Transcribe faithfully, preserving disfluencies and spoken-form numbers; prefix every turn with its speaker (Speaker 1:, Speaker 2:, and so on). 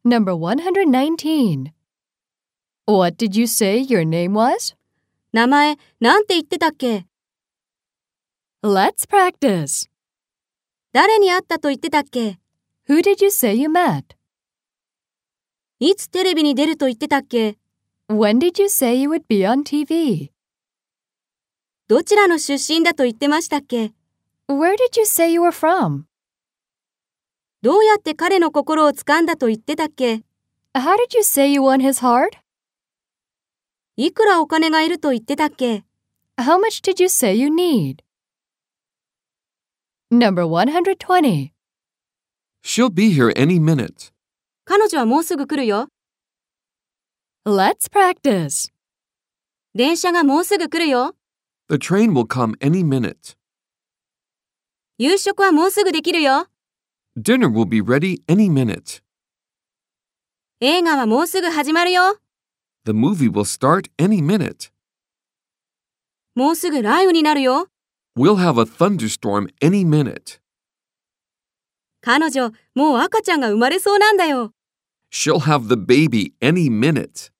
Speaker 1: Number one hundred nineteen. What did you say your name was?
Speaker 2: 名前、なんて言ってたっけ？
Speaker 1: Let's practice.
Speaker 2: 誰に会ったと言ってたっけ？
Speaker 1: Who did you say you met?
Speaker 2: いつテレビに出ると言ってたっけ？
Speaker 1: When did you say you would be on T V?
Speaker 2: どちらの出身だと言ってましたっけ？
Speaker 1: Where did you say you were from?
Speaker 2: どうやって彼の心を掴んだと言ってたっけ？
Speaker 1: How did you say you won his heart?
Speaker 2: いくらお金がいると言ってたっけ？
Speaker 1: How much did you say you need? Number one hundred twenty.
Speaker 3: She'll be here any minute.
Speaker 2: 彼女はもうすぐ来るよ。
Speaker 1: Let's practice.
Speaker 2: 電車がもうすぐ来るよ。
Speaker 3: The train will come any minute.
Speaker 2: 夕食はもうすぐできるよ。
Speaker 3: Dinner will be ready any minute.
Speaker 2: 映画はもうすぐ始まるよ。
Speaker 3: The movie will start any minute.
Speaker 2: もうすぐ雷雨になるよ。
Speaker 3: We'll have a thunderstorm any minute.
Speaker 2: 彼女、もう赤ちゃんが生まれそうなんだよ。
Speaker 3: She'll have the baby any minute.